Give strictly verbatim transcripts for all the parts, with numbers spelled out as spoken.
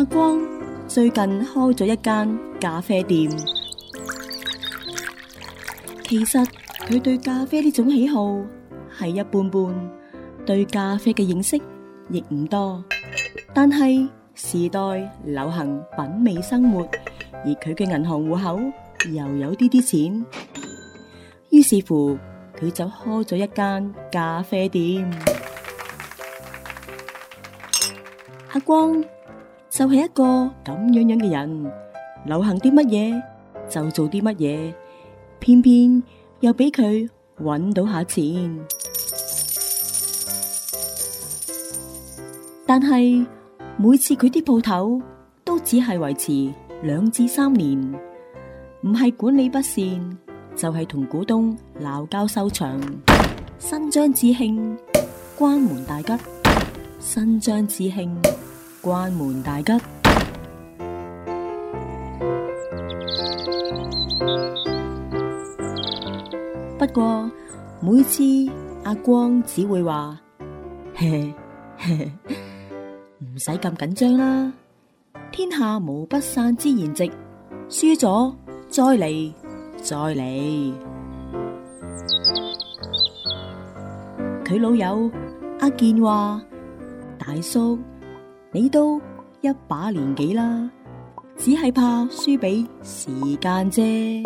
阿光最近開咗一間咖啡店，其實佢對咖啡呢種喜好係一般般，對咖啡嘅認識亦唔多。但係時代流行品味生活，而佢嘅銀行戶口又有啲啲錢，於是乎佢就開咗一間咖啡店。阿光就係一個咁樣樣嘅人，流行啲乜嘢就做啲乜嘢，偏偏又俾佢搵到下錢。但係每次佢啲鋪頭都只係維持兩至三年，唔係管理不善，就係同股東鬧交收場。新張至慶，關門大吉。新張至慶，關門大吉。不過每次阿光只會話：嘿嘿，唔使咁緊張啦，天下無不散之筵席，輸咗再嚟，再嚟。佢老友阿健話：大叔，你都一把年紀啦，只係怕輸俾時間啫。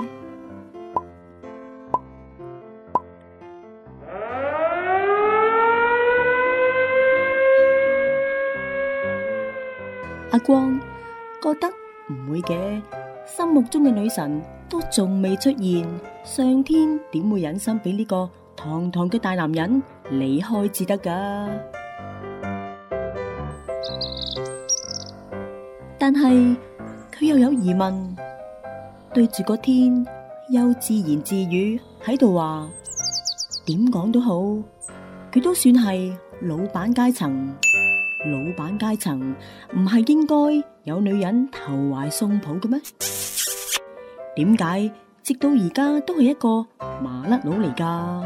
阿光覺得唔會嘅，心目中嘅女神都仲未出現，上天點會忍心俾呢個堂堂嘅大男人離開至得噶？但係佢又有疑問，對住個天又自言自語喺度話：點講都好，佢都算係老闆階層。老闆階層唔係應該有女人投懷送抱嘅咩？點解直到而家都係一個麻甩佬嚟㗎？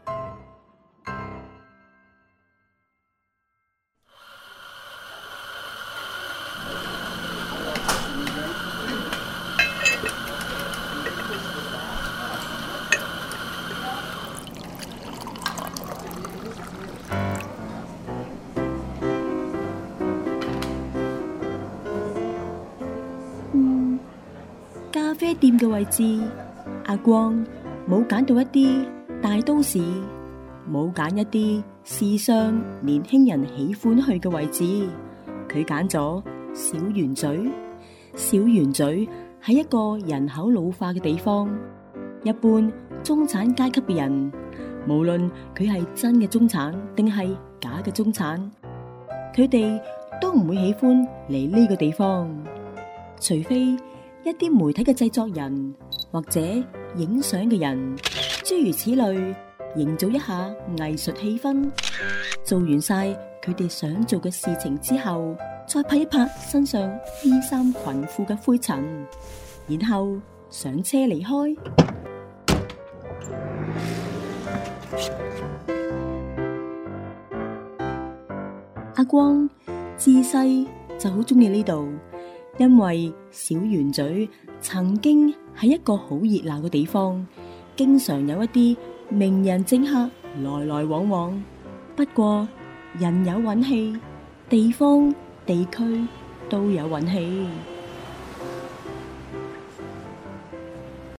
咖啡店嘅位置，阿光冇揀到一啲大都市，冇揀一啲時尚年輕人喜歡去嘅位置，佢揀咗小圓嘴。小圓嘴係一個人口老化嘅地方，一般中產階級嘅人，無論佢係真嘅中產定係假嘅中產，佢哋都唔會喜歡嚟呢個地方，除非一啲媒體嘅製作人或者影相嘅人，諸如此類，營造一下藝術氣氛。做完晒佢哋想做嘅事情之後，再拍一拍身上衣衫裙褲嘅灰塵，然後上車離開。阿光自細就好中意呢度。因為小圓嘴曾經係一個好熱鬧嘅地方，經常有一啲名人政客來來往往。不過人有運氣，地方地區都有運氣。